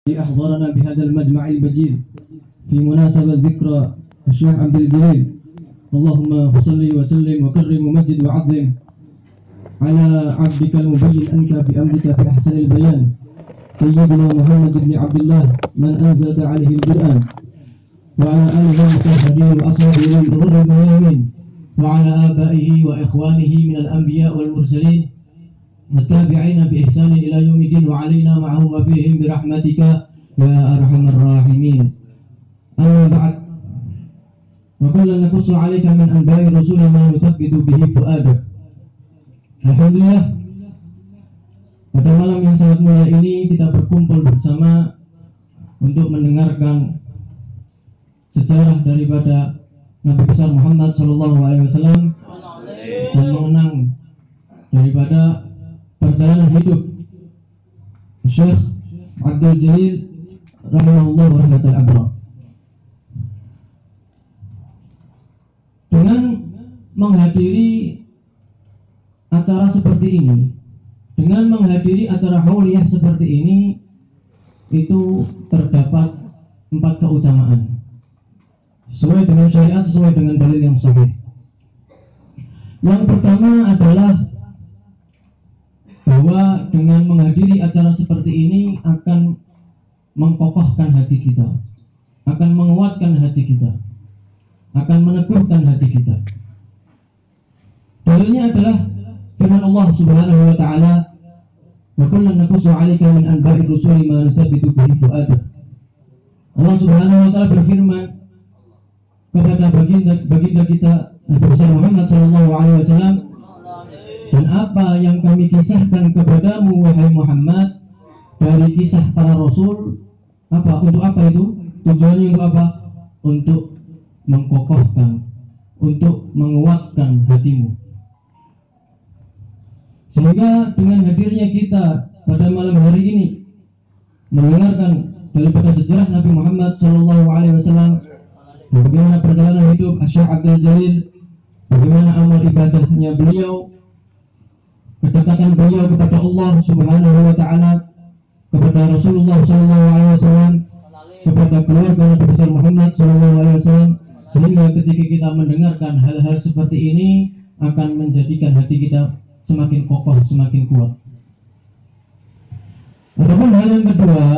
أحضرنا بهذا المجمع المجيد في مناسبة ذكرى الشيخ عبد الجليل. اللهم صل وسلم وكرم ومجد وعظم على عبدك المبين أنت بأمرك في أحسن البيان سيدنا محمد بن عبد الله من أنزلت عليه القرآن وعلى آله المطهرين وأصحابه الغر الميامين وعلى آبائه وإخوانه من الأنبياء والمرسلين والتابعين بإحسان إلى يوم الدين وعلينا معهم وفيهم برحمتك يا أرحم الراحمين. أما بعد، وكلا نقص عليك من أنباء الرسول ما نثبت به فؤادك. Alhamdulillah, pada malam yang sangat mulia ini kita berkumpul bersama untuk mendengarkan sejarah daripada Nabi besar Muhammad SAW dan mengenang daripada perjalanan hidup Syekh Abdul Jalil rahimahullah wa rahmatul abrar. Dengan menghadiri acara seperti ini, dengan menghadiri acara hauliyah seperti ini, itu terdapat 4 keutamaan sesuai dengan syariat, sesuai dengan dalil yang sahih. Yang pertama adalah bahwa dengan menghadiri acara seperti ini akan mengkokohkan hati kita, akan menguatkan hati kita, akan meneguhkan hati kita. Dalilnya adalah firman Allah Subhanahu wa taala, "Wa kullan naqussu 'alaika min anba'ir rusuli ma nusabbitu bihi fu'adak." Allah Subhanahu wa taala berfirman kepada baginda kita Nabi besar Muhammad sallallahu alaihi wasallam, dan apa yang kami kisahkan kepadamu wahai Muhammad dari kisah para rasul, apa? Untuk apa itu? Tujuannya untuk apa? Untuk mengkokohkan, untuk menguatkan hatimu. Sehingga dengan hadirnya kita pada malam hari ini mendengarkan daripada sejarah Nabi Muhammad SAW, bagaimana perjalanan hidup Syekh Abdul Jalil, bagaimana amal ibadahnya beliau, kedekatan beliau kepada Allah Subhanahu wa taala, kepada Rasulullah SAW, kepada keluarga Nabi besar Muhammad SAW, sehingga ketika kita mendengarkan hal-hal seperti ini akan menjadikan hati kita semakin kokoh, semakin kuat. Adapun hal yang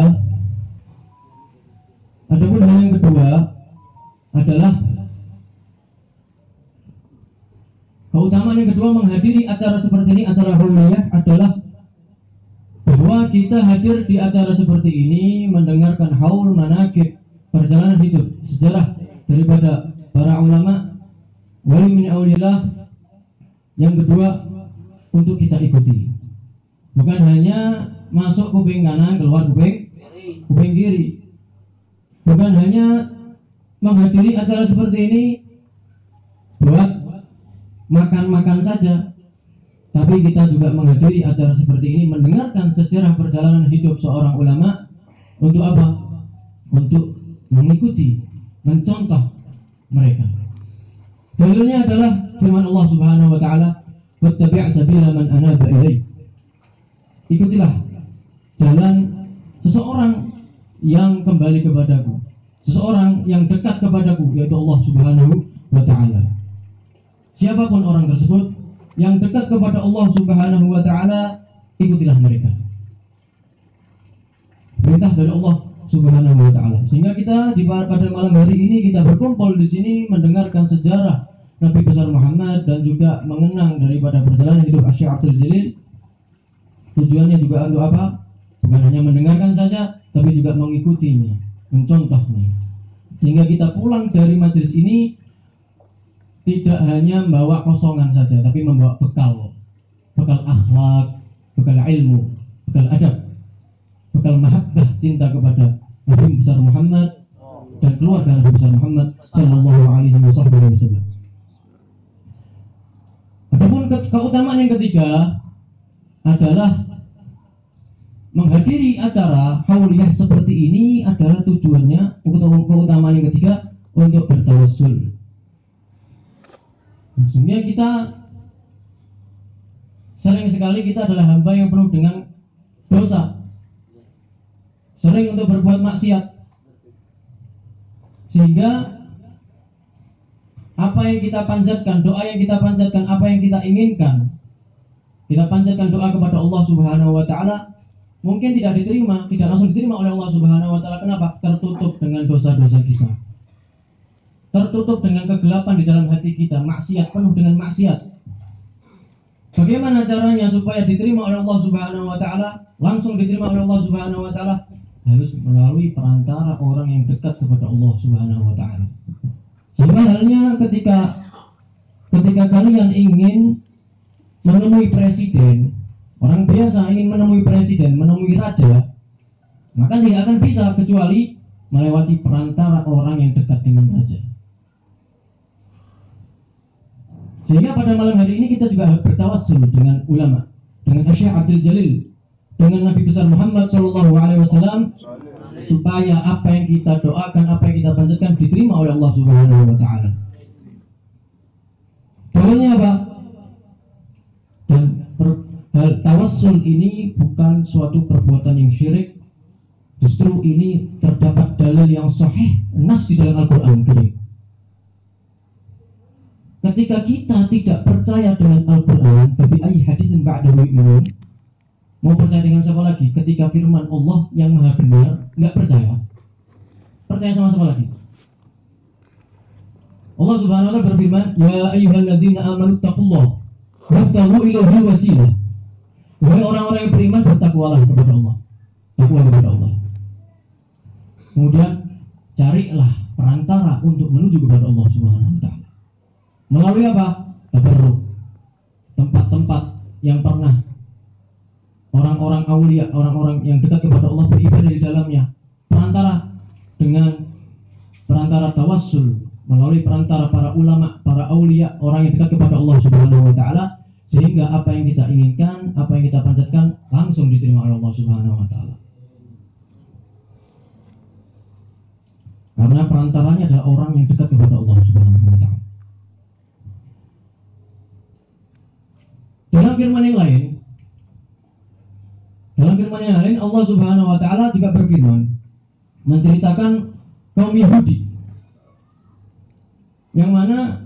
kedua adalah keutamaan yang kedua menghadiri acara seperti ini, acara hauliyah, adalah bahwa kita hadir di acara seperti ini mendengarkan haul manaqib, perjalanan hidup, sejarah daripada para ulama, wali min aulillah. Yang kedua, untuk kita ikuti, bukan hanya masuk kuping kanan, keluar kuping kiri, bukan hanya menghadiri acara seperti ini buat makan-makan saja, tapi kita juga menghadiri acara seperti ini mendengarkan sejarah perjalanan hidup seorang ulama. Untuk apa? Untuk mengikuti, mencontoh mereka. Dalilnya adalah firman Allah Subhanahu wa taala, "Wattabi' sabila man anaba ilaih." Ikutilah jalan seseorang yang kembali kepadaku, seseorang yang dekat kepadaku, yaitu Allah Subhanahu wa taala. Siapapun orang tersebut yang dekat kepada Allah Subhanahu wa taala, ikutilah mereka. Perintah dari Allah Subhanahu wa taala. Sehingga kita pada malam hari ini kita berkumpul di sini mendengarkan sejarah Nabi besar Muhammad dan juga mengenang daripada perjalanan hidup Syekh Abdul Jalil. Tujuannya juga untuk apa? Bukan hanya mendengarkan saja, tapi juga mengikutinya, mencontohnya. Sehingga kita pulang dari majelis ini tidak hanya membawa kosongan saja, tapi membawa bekal akhlak, bekal ilmu, bekal adab, bekal mahabbah, cinta kepada Nabi besar Muhammad dan keluarga Nabi besar Muhammad sallallahu alaihi wasallam. Adapun keutamaan yang ketiga adalah menghadiri acara hauliyah seperti ini adalah tujuannya, keutamaan yang ketiga, untuk bertawassul. Maksudnya kita sering sekali kita adalah hamba yang penuh dengan dosa. sering untuk berbuat maksiat. Sehingga apa yang kita panjatkan, doa yang kita panjatkan, apa yang kita inginkan, kita panjatkan doa kepada Allah Subhanahu wa taala, mungkin tidak diterima, tidak langsung diterima oleh Allah Subhanahu wa taala. Kenapa? Tertutup dengan dosa-dosa kita. Tertutup dengan kegelapan di dalam hati kita, maksiat, penuh dengan maksiat. Bagaimana caranya supaya diterima oleh Allah Subhanahu wa taala? Langsung diterima oleh Allah Subhanahu wa taala, harus melalui perantara orang yang dekat kepada Allah Subhanahu wa taala. Sama halnya ketika kalian ingin menemui presiden, orang biasa ingin menemui presiden, menemui raja, maka tidak akan bisa kecuali melewati perantara orang yang dekat dengan raja. Sehingga pada malam hari ini kita juga bertawassul dengan ulama, dengan Syekh Abdul Jalil, dengan Nabi besar Muhammad SAW, supaya apa yang kita doakan, apa yang kita panjatkan diterima oleh Allah Subhanahu wa taala. Dalilnya apa? Dan tawassul ini bukan suatu perbuatan yang syirik. Justru ini terdapat dalil yang sahih, nas di dalam Al-Qur'an Karim. Ketika kita tidak percaya dengan Al-Qur'an, tapi ayy hadisin ba'dahu yu'minun, mau percaya dengan siapa lagi? Ketika firman Allah yang maha benar, nggak percaya. Percaya sama siapa lagi? Allah Subhanahu wa taala berfirman, "Ya ayyuhalladzina amanu taqullaha wabtaghu ilaihi wasilah." Wahai orang-orang yang beriman, bertakwalah kepada Allah. Takwa kepada Allah. Kemudian carilah perantara untuk menuju kepada Allah Subhanahu wa taala. Melalui apa? Tabarruk. Tempat-tempat yang pernah orang-orang aulia, orang-orang yang dekat kepada Allah beribadah di dalamnya. Perantara tawassul, melalui perantara para ulama, para aulia, orang yang dekat kepada Allah Subhanahu wa taala, sehingga apa yang kita inginkan, apa yang kita panjatkan langsung diterima oleh Allah Subhanahu wa taala. Karena perantaranya adalah orang yang dekat kepada Allah Subhanahu wa taala. Dalam firman yang lain, Allah Subhanahu wa taala juga berfirman menceritakan kaum Yahudi yang mana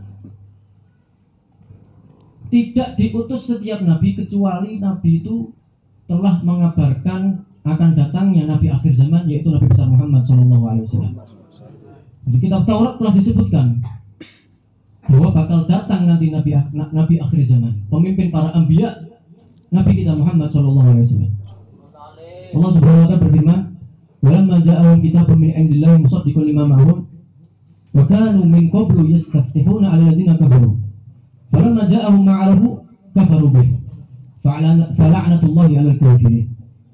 tidak diutus setiap nabi kecuali nabi itu telah mengabarkan akan datangnya nabi akhir zaman, yaitu Nabi besar Muhammad SAW. Di kitab Taurat telah disebutkan bahwa bakal datang nanti nabi akhir zaman, pemimpin para anbiya, Nabi kita Muhammad SAW. Allah Subhanahu wa taala berfirman, "Walamma ja'ahum kitabun min indillahi musaddiqun lima ma'hum wa kanu min qablu yastaftihuna 'ala alladziina kafaru. Falamma ja'ahum ma 'arafu kafaru bih. Fala'natullahi 'alal kafirin."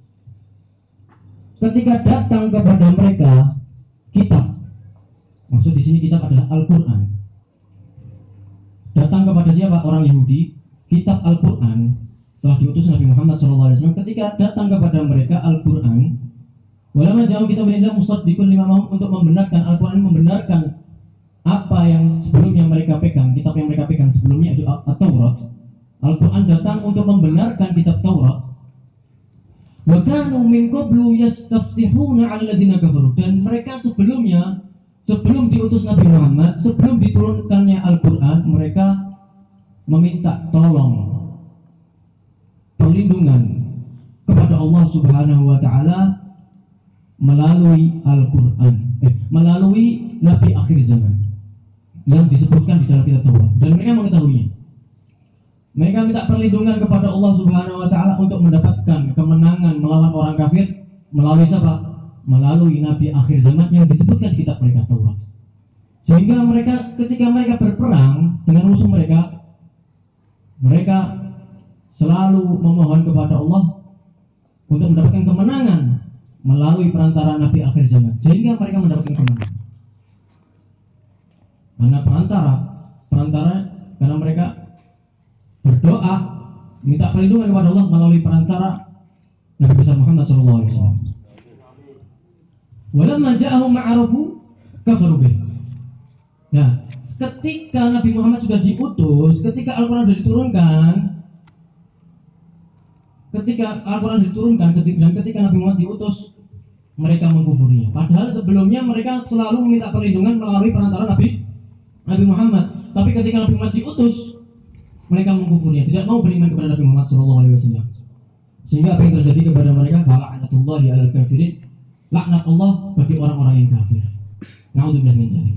Ketika datang kepada mereka kitab, maksud di sini kitab adalah Al-Qur'an. Datang kepada siapa? Orang Yahudi, kitab Al-Qur'an. Setelah diutus Nabi Muhammad SAW, ketika datang kepada mereka Al-Quran, walamma ja'ahum kitabun minallah musaddiqun lima ma'hum, untuk membenarkan Al-Quran, membenarkan apa yang sebelumnya mereka pegang, kitab yang mereka pegang sebelumnya itu At-Taurat. Al-Quran datang untuk membenarkan kitab Taurat. Wa kanu min qablu yastaftihuna 'ala alladziina kafaru, dan mereka sebelumnya, sebelum diutus Nabi Muhammad, sebelum diturunkannya Al-Quran, mereka meminta tolong, perlindungan kepada Allah Subhanahu wa taala melalui Al-Qur'an, melalui nabi akhir zaman yang disebutkan di dalam kitab Taurat, dan mereka mengetahuinya. Mereka minta perlindungan kepada Allah Subhanahu wa taala untuk mendapatkan kemenangan melawan orang kafir melalui siapa? Melalui nabi akhir zaman yang disebutkan di kitab mereka Taurat. Sehingga mereka, ketika mereka berperang dengan musuh mereka selalu memohon kepada Allah untuk mendapatkan kemenangan melalui perantara nabi akhir zaman, sehingga mereka mendapatkan kemenangan. Karena karena mereka berdoa minta perlindungan kepada Allah melalui perantara Nabi besar Muhammad SAW. Walamma ja'ahum ma'arafu kafaru bih. Nah, ketika Nabi Muhammad sudah diutus, ketika Al-Quran sudah diturunkan, dan ketika Nabi Muhammad diutus, mereka mengkufurinya. Padahal sebelumnya mereka selalu meminta perlindungan melalui perantara Nabi Muhammad. Tapi ketika Nabi Muhammad diutus, mereka mengkufurinya, tidak mau beriman kepada Nabi Muhammad SAW. Sehingga apa yang terjadi kepada mereka? Fala'natullahi 'alal kafirin. Laknat Allah bagi orang-orang yang kafir. Na'udzubillah min dzalik.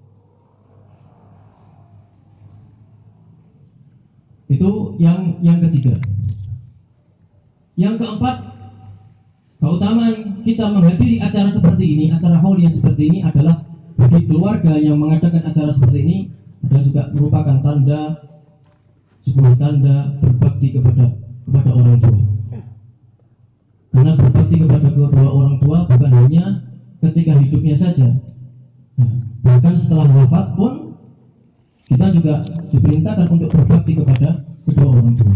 Itu yang ketiga. Yang keempat, keutamaan kita menghadiri acara seperti ini, acara hauliyah seperti ini adalah bagi keluarga yang mengadakan acara seperti ini adalah juga merupakan sebuah tanda berbakti kepada orang tua. Karena berbakti kepada kedua orang tua bukan hanya ketika hidupnya saja, bahkan setelah wafat pun kita juga diperintahkan untuk berbakti kepada kedua orang tua.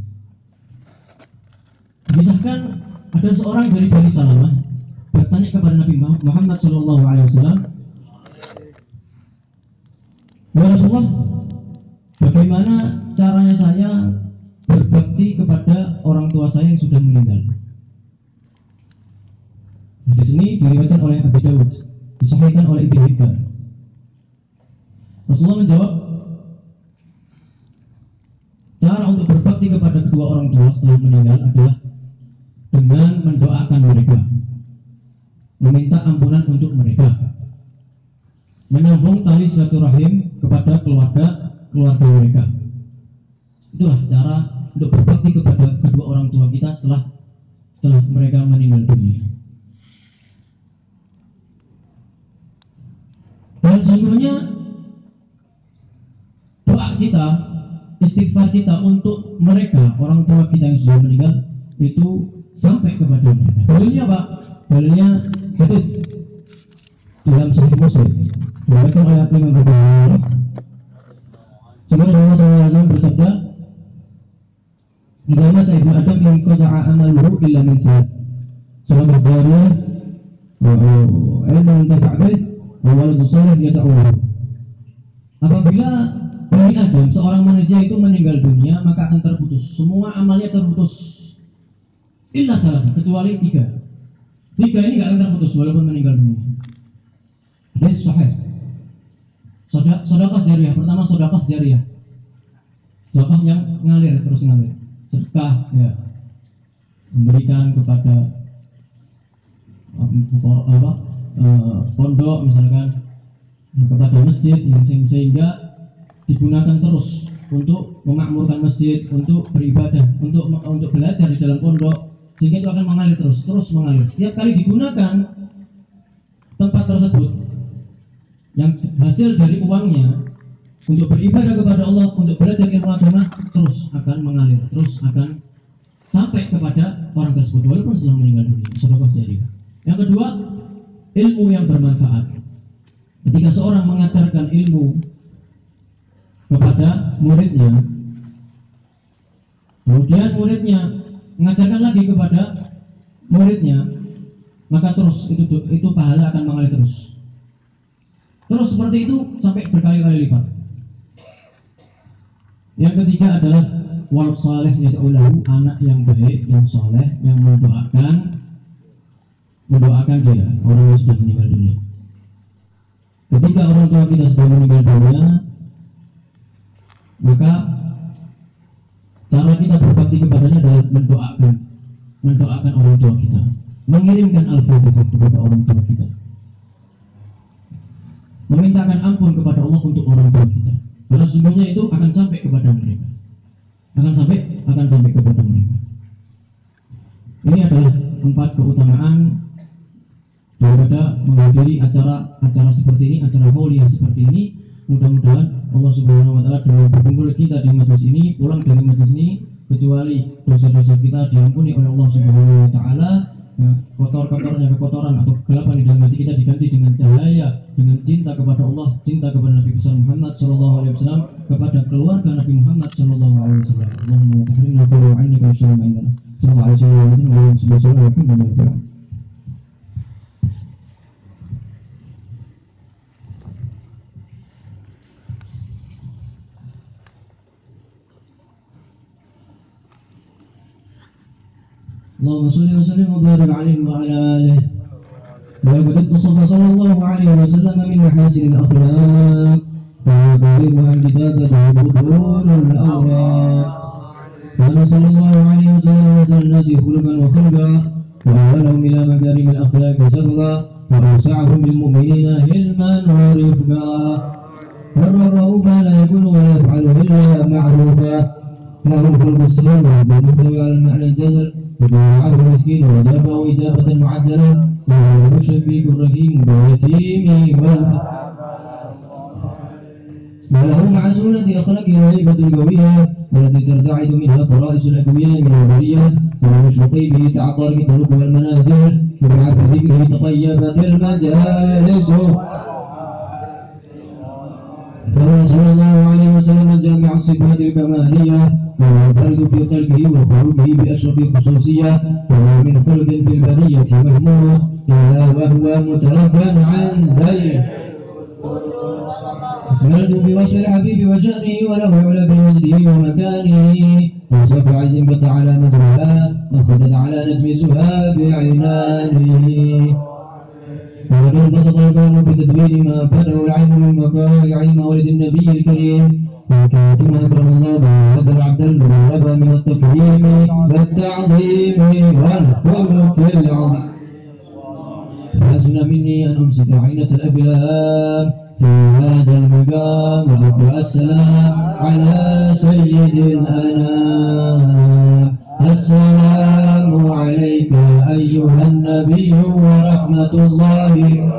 Misalkan ada seorang dari Bani Salamah bertanya kepada Nabi Muhammad SAW, "Ya Rasulullah, bagaimana caranya saya berbakti kepada orang tua saya yang sudah meninggal?" Di sini diriwayatkan oleh Abu Dawud, disahihkan oleh Ibnu Hibban. Rasulullah menjawab, cara untuk berbakti kepada kedua orang tua setelah meninggal adalah dengan mendoakan mereka, meminta ampunan untuk mereka, menyambung tali silaturahim kepada keluarga mereka. Itulah cara untuk berbakti kepada kedua orang tua kita setelah mereka meninggal dunia. Dan sesungguhnya doa kita, istighfar kita untuk mereka, orang tua kita yang sudah meninggal, itu sampai kepada mereka. Dalilnya apa? Dalilnya hadis dalam Sahih Muslim diriwayatkan oleh Imam Abu Hurairah. Rasulullah SAW bersabda, "Idza mata ibnu Adam inqata'a amaluhu illa min salat, shadaqah jariyah, wa ilmun yantafa' bih, wa waladun salih yad'u lahu." Apabila Bani Adam, seorang manusia itu meninggal dunia, maka akan terputus semua amalnya, terputus illa salah, kecuali tiga ini nggak akan terputus walaupun meninggal dunia. Hadis sahih. Sedekah jariyah. Pertama, sedekah jariyah, sedekah yang ngalir, terus ngalir, sedekah ya, memberikan kepada pondok misalkan, kepada masjid yang sehingga digunakan terus untuk memakmurkan masjid, untuk beribadah, untuk belajar di dalam pondok, sehingga itu akan mengalir terus mengalir. Setiap kali digunakan tempat tersebut, yang hasil dari uangnya untuk beribadah kepada Allah, untuk belajar ilmu agama, terus akan mengalir, terus akan sampai kepada orang tersebut walaupun setelah meninggal dunia. Sedekah jariyah. Yang kedua, ilmu yang bermanfaat. Ketika seorang mengajarkan ilmu kepada muridnya, kemudian muridnya mengajarkan lagi kepada muridnya, maka terus itu pahala akan mengalir terus seperti itu sampai berkali-kali lipat. Yang ketiga adalah walad saleh yad'u lahu, anak yang baik, yang saleh, yang mendoakan dia, orang yang sudah meninggal dunia. Ketika orang tua kita sudah meninggal dunia, maka cara kita berbakti kepadanya adalah mendoakan orang tua kita, mengirimkan al-fatihah kepada orang tua kita, memintakan ampun kepada Allah untuk orang tua kita. Karena sesungguhnya itu akan sampai kepada mereka, akan sampai kepada mereka. Ini adalah 4 keutamaan daripada menghadiri acara seperti ini, acara hauliyah seperti ini. Mudah-mudahan Allah Subhanahu wa taala dengan berkumpul kita di majelis ini, pulang dari majelis ini, kecuali dosa-dosa kita diampuni oleh Allah Subhanahu wa taala, kotor-kotornya kekotoran atau kegelapan di dalam hati kita diganti dengan cahaya, dengan cinta kepada Allah, cinta kepada Nabi besar Muhammad sallallahu alaihi wasallam, kepada keluarga Nabi Muhammad sallallahu alaihi wasallam. Allahumma tahrimna qulu annika sallallahu alaihi wasallam. Allahumma sholli wa sallim wa barik alaihi wa ala alihi صلى الله عليه وسلم من محاسن الأخلاق ويبلغها الكتابة بطون الأوراق. كان صلى الله عليه وسلم مثل الناس خلقا وخلقا وأولهم إلى مكارم الأخلاق سبقا وأوسعهم بالمؤمنين علما ورفقا. والرؤوف لا يكون ولا يفعل إلا معروفا. له الخلق السليم بالمحتوى على المعنى الجزل يدعوه المسكين وأجابه إجابة معجلة. وهو الشفيق الرحيم باليتيم وله مع سنة أخلاقه الهيبة القوية التي ترتعد منها فرائس الأقوياء من البرية. ومشرقي به تعطرق الطرق والمنازل وبعد ذكره تطيبت المجالس. فهو صلى الله عليه وسلم جامع الصفات الكمالية ومنفرد في خلقه وخلقه بأشرف خصوصية. وهو من خلق في البرية محمود إلا وهو متربى عن زين. أكملت بوصف الحبيب وشأنه وله علا بمجده ومكانه. وصف عز بقى على مجرها أخذت على نجم سهاب عنانه. وقد انبسط الكون بتدوير ما فاته العلم من مقايع مولد النبي الكريم. وكاتم أكرم الله وهذا العبد المقرب من التكريم والتعظيم والخلق العظيم. فحسن مني أن أمسك عينة الأقلام في هذا المقام وأقرأ السلام على سيد الأنام. السلام عليك أيها النبي ورحمة الله.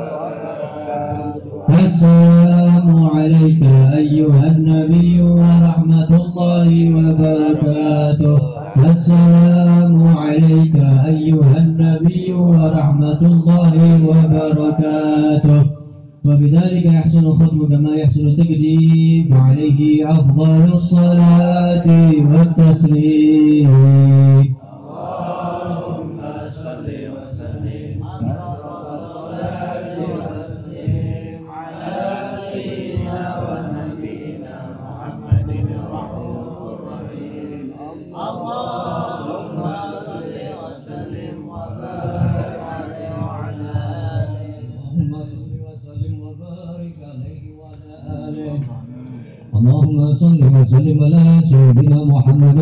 السلام عليك أيها النبي ورحمة الله وبركاته. السلام عليك أيها النبي ورحمة الله وبركاته. وبذلك يحسن الختم كما يحسن التقديم فعليه أفضل الصلاة والتسليم. اللهم صل وسلم على الصلاة والتسليم على سيدنا ونبينا محمد الرؤوف الرحيم. اللهم صل وسلم وبارك عليه وعلى آله. اللهم صل وسلم على سيدنا محمد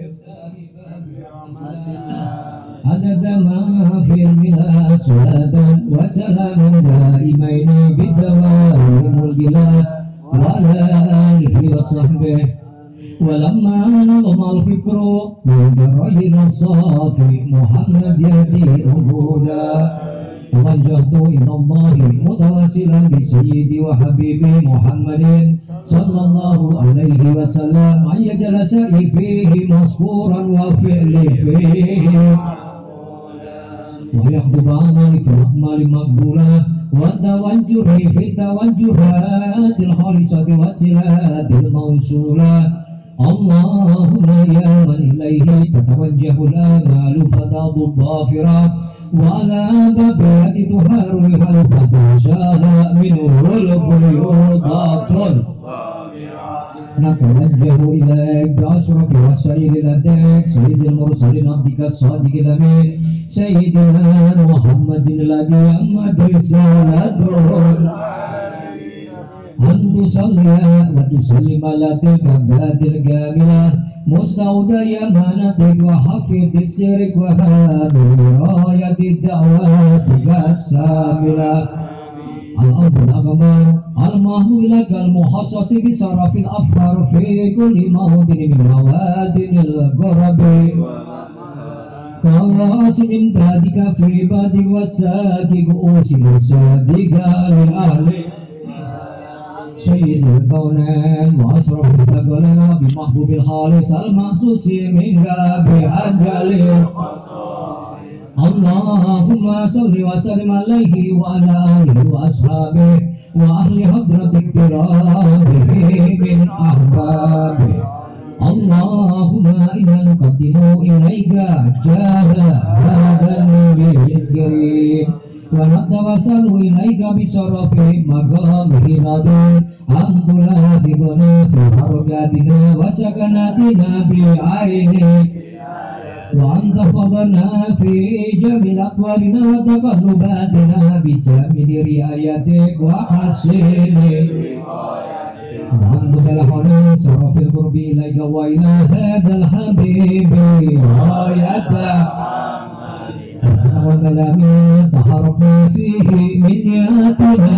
عدد ما في الملاد صلاة وسلاما دائمين بالدوام والجلال وعلى آله وصحبه. ولما نظم الفكر من الرجل الصافي محمد يهدي الهدى توجهت إلى الله متوسلا بسيدي وحبيبي محمد صلى الله عليه وسلم أن يجعل سعي فيه مذكورا وفعلي فيه ويحبب عملي في الأعمال مقبولة والتوجه في التوجهات الخالصة والصلات الموصولة. اللهم يا من إليه تتوجه الآمال فتاض الظافرات وعلى بابك تحرها الفتى منه الفيوضات. نتوجه إليك بأشرف وسائل لديك سيد المرسلين عبدك الصادق الأمين سيدنا محمد الذي أمت رسالته أن تصلي وتسلم على تلك الذات الكاملة مستودع أمانتك وحفظ سرك وهامل راية دعواتك الساملة. الأرض الأكبر المهول لك المخصص بصرف الأفكار في كل موطن من موادن القرب كواسم امدادك في عبادك والساكك أوسل صادق لأهل سيد الكونين وأشرف الثقلين بمحبوب الخالص المخصوص منك بأجل. اللهم صل وسلم عليه وعلى آله وأصحابه وأهل حضرة اكرامه من أحبابه. اللهم إنا نقدم إليك جاه هذا النبي الكريم ونتوسل إليك بشرف مقامه العظيم أن تلاحظنا في حركاتنا وسكناتنا بعينك وأنت فضلنا في جميع أقوالنا وتقلباتنا بجميع رعايتك وحسن وأنت بالحنان صرف القرب إليك وإلى هذا الحبيب غايته وكلام تحرفنا فيه من نياتنا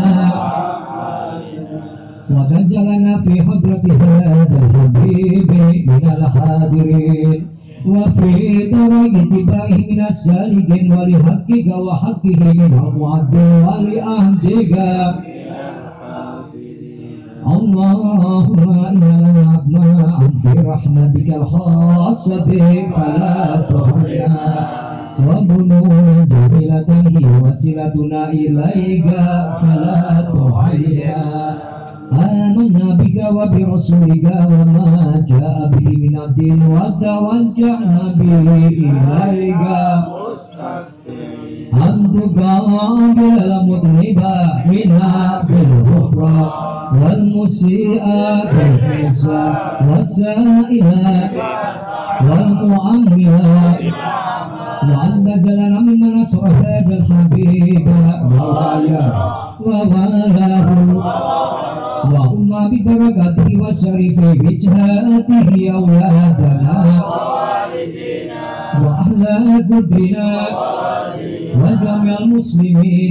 وتجعلنا في حضرة هذا الحبيب من الحاضرين وفي طريق اتباعه من السالكين ولحقك وحقه من المعدل ولأهدك اللهم إنا لنا أطماعا في رحمتك الخاصة فلا تهلكنا وظنونا جميلة هي وسيلتنا إليك فلا تهلكنا آمنا بك وبرسولك وما جاء به من الدين وتوجهنا به إليك أن تقابل المذنب منا بالغفران والمسيء بالحسان والسائل والمؤمن وأن تجعلنا ممن نصر هذا الحبيب ووالاه وأم ببركاته وشريف وجهاته أولادنا وأهل قدرنا وجميع المسلمين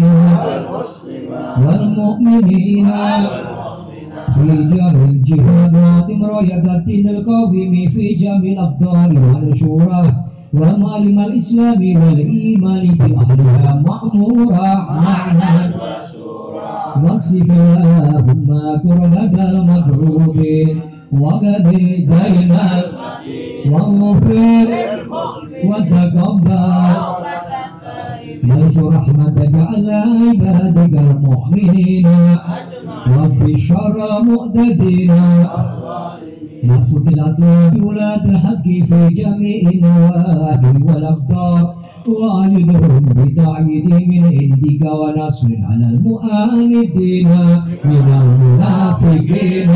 والمؤمنين في جميع الجهاد راية الدين القويم في جميع الأبطال والشورى ومعلم الإسلام والإيمان بأهلها مأمورا معنا واكشف اللهم كربة المكروبين وقد دينا واغفر وتقبل وانشر رحمتك على عبادك المؤمنين وبشر مؤتدين يبسط الأطياب بولاة الحق في جميع النواحي والأقطار وأعيدهم بتأييد من عندك ونصر على المؤمنين من المنافقين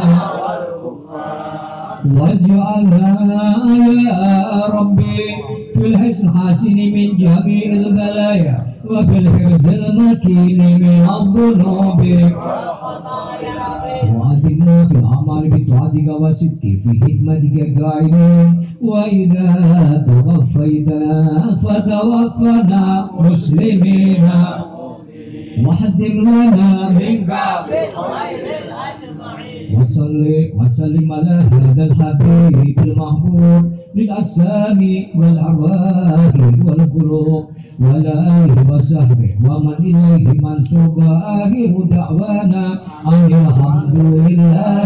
واجعلنا يا ربي في الحسن حاسن من جميع البلايا وفي الحرز المكين من الذنوب وأدمنا في الأعمال بطاعتك وصدق في خدمتك قائمين وإذا توفيتنا فتوفنا مسلمين وحدث لنا منك بالخير الأجمعين وصل وسلم على هذا الحبيب المحبوب للأسامي والأرواح والقلوب وعلى آله وصحبه ومن إليه منسوب آخر دعوانا أن الحمد لله